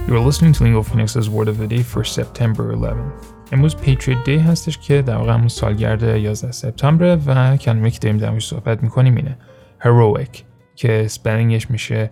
You're listening to Lingo Phoenix's Word of the Day for September 11th. امروز Patriot Day هستش که در واقع همون سالگرد 11 سپتامبر و کلمه‌ای که داریم در موردش صحبت می‌کنیم اینه heroic که اسپلینگش میشه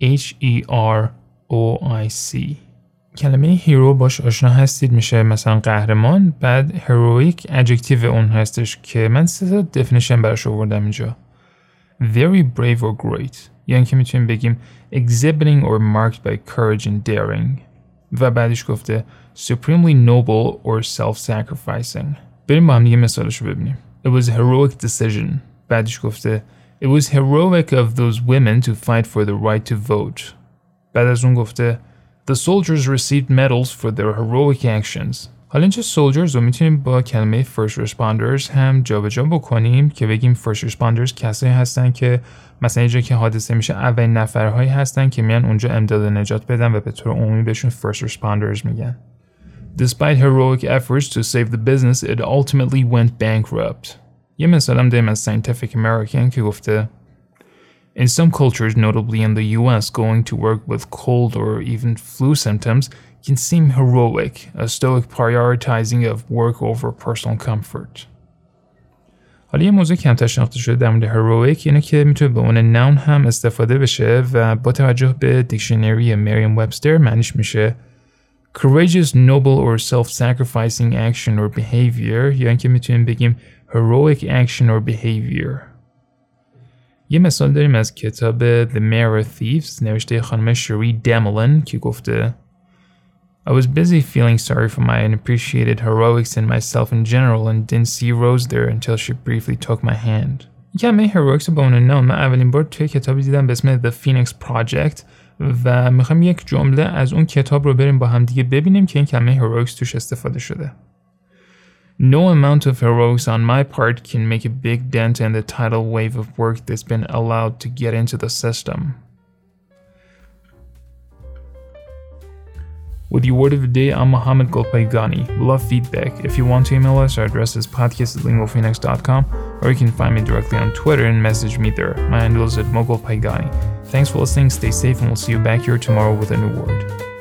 H-E-R-O-I-C. کلمه هیرو باش آشنا هستید میشه مثلا قهرمان. بعد heroic adjective اون هستش که من 3 تا definition براش آوردم اینجا. Very brave or great یعنی که میتونیم بگیم exhibiting or marked by courage and daring. و بعدش گفته supremely noble or self-sacrificing. بریم با هم دیگه مثالش رو ببینیم. It was a heroic decision. بعدش گفته It was heroic of those women to fight for the right to vote. بعد از اون گفته The soldiers received medals for their heroic actions. حالا اینجا soldiers رو میتونیم با کلمه first responders هم جابجا بکنیم که بگیم first responders کسایی هستن که مثلا اینجا که حادثه میشه اولین نفرهایی هستن که میان اونجا امداد نجات بدن و به طور عمومی بهشون first responders میگن. Despite heroic efforts to save the business, it ultimately went bankrupt. یه مثال هم داریم از Scientific American که گفته In some cultures, notably in the US, going to work with cold or even flu symptoms can seem heroic, a stoic prioritizing of work over personal comfort. حالا یه موضوع کمتر شناخته شده در مورد heroic اینه که میتونه به عنوان noun هم استفاده بشه و با توجه به دیکشنری مریم وبستر معنیش میشه courageous, noble or self-sacrificing action or behavior یعنی که میتونیم بگیم heroic action or behavior. یه مثال داریم از کتاب The Mayor of Thieves نوشته خانم شری دملن که گفته I was busy feeling sorry for my unappreciated heroics in myself in general and didn't see Rose there until she briefly took my hand. کلمه heroics با اون نام من اولین بار توی کتابی دیدم به اسم The Phoenix Project و میخوام یک جمله از اون کتاب رو بریم با هم دیگه ببینیم که این کلمه heroics توش استفاده شده. No amount of heroics on my part can make a big dent in the tidal wave of work that's been allowed to get into the system. With your word of the day, I'm Mohammed Golpaygani. We love feedback. If you want to email us, our address is podcast@lingophoenix.com or you can find me directly on Twitter and message me there. My handle is @mogolpaygani. Thanks for listening, stay safe, and we'll see you back here tomorrow with a new word.